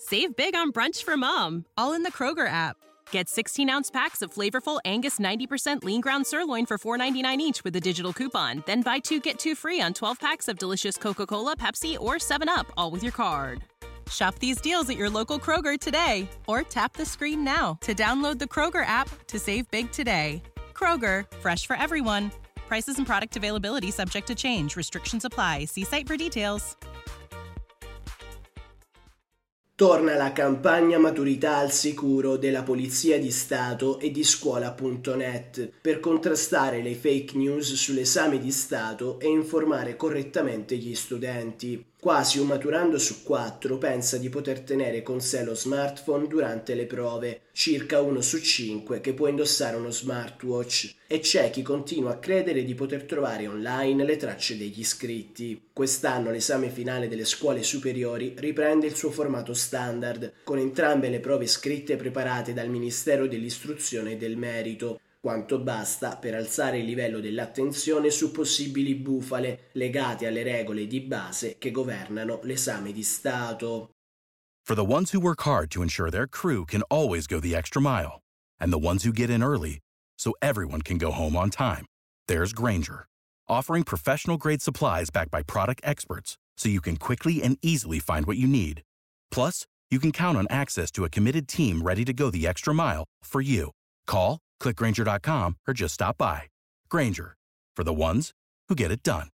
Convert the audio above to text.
Save big on brunch for mom, all in the Kroger app. Get 16-ounce packs of flavorful Angus 90% lean ground sirloin for $4.99 each with a digital coupon. Then buy 2, get 2 free on 12 packs of delicious Coca-Cola, Pepsi, or 7-Up, all with your card. Shop these deals at your local Kroger today, or tap the screen now to download the Kroger app to save big today. Kroger, fresh for everyone. Prices and product availability subject to change. Restrictions apply. See site for details. Torna la campagna Maturità al sicuro della Polizia di Stato e di Scuola.net per contrastare le fake news sull'esame di Stato e informare correttamente gli studenti. Quasi un maturando su 4 pensa di poter tenere con sé lo smartphone durante le prove, circa 1 su 5 che può indossare uno smartwatch, e c'è chi continua a credere di poter trovare online le tracce degli iscritti. Quest'anno l'esame finale delle scuole superiori riprende il suo formato standard, con entrambe le prove scritte preparate dal Ministero dell'Istruzione e del Merito. Quanto basta per alzare il livello dell'attenzione su possibili bufale legate alle regole di base che governano l'esame di Stato. For the ones who work hard to ensure their crew can always go the extra mile, and the ones who get in early so everyone can go home on time, there's Grainger, offering professional-grade supplies backed by product experts so you can quickly and easily find what you need. Plus, you can count on access to a committed team ready to go the extra mile for you. Call, click Grainger.com, or just stop by. Grainger, for the ones who get it done.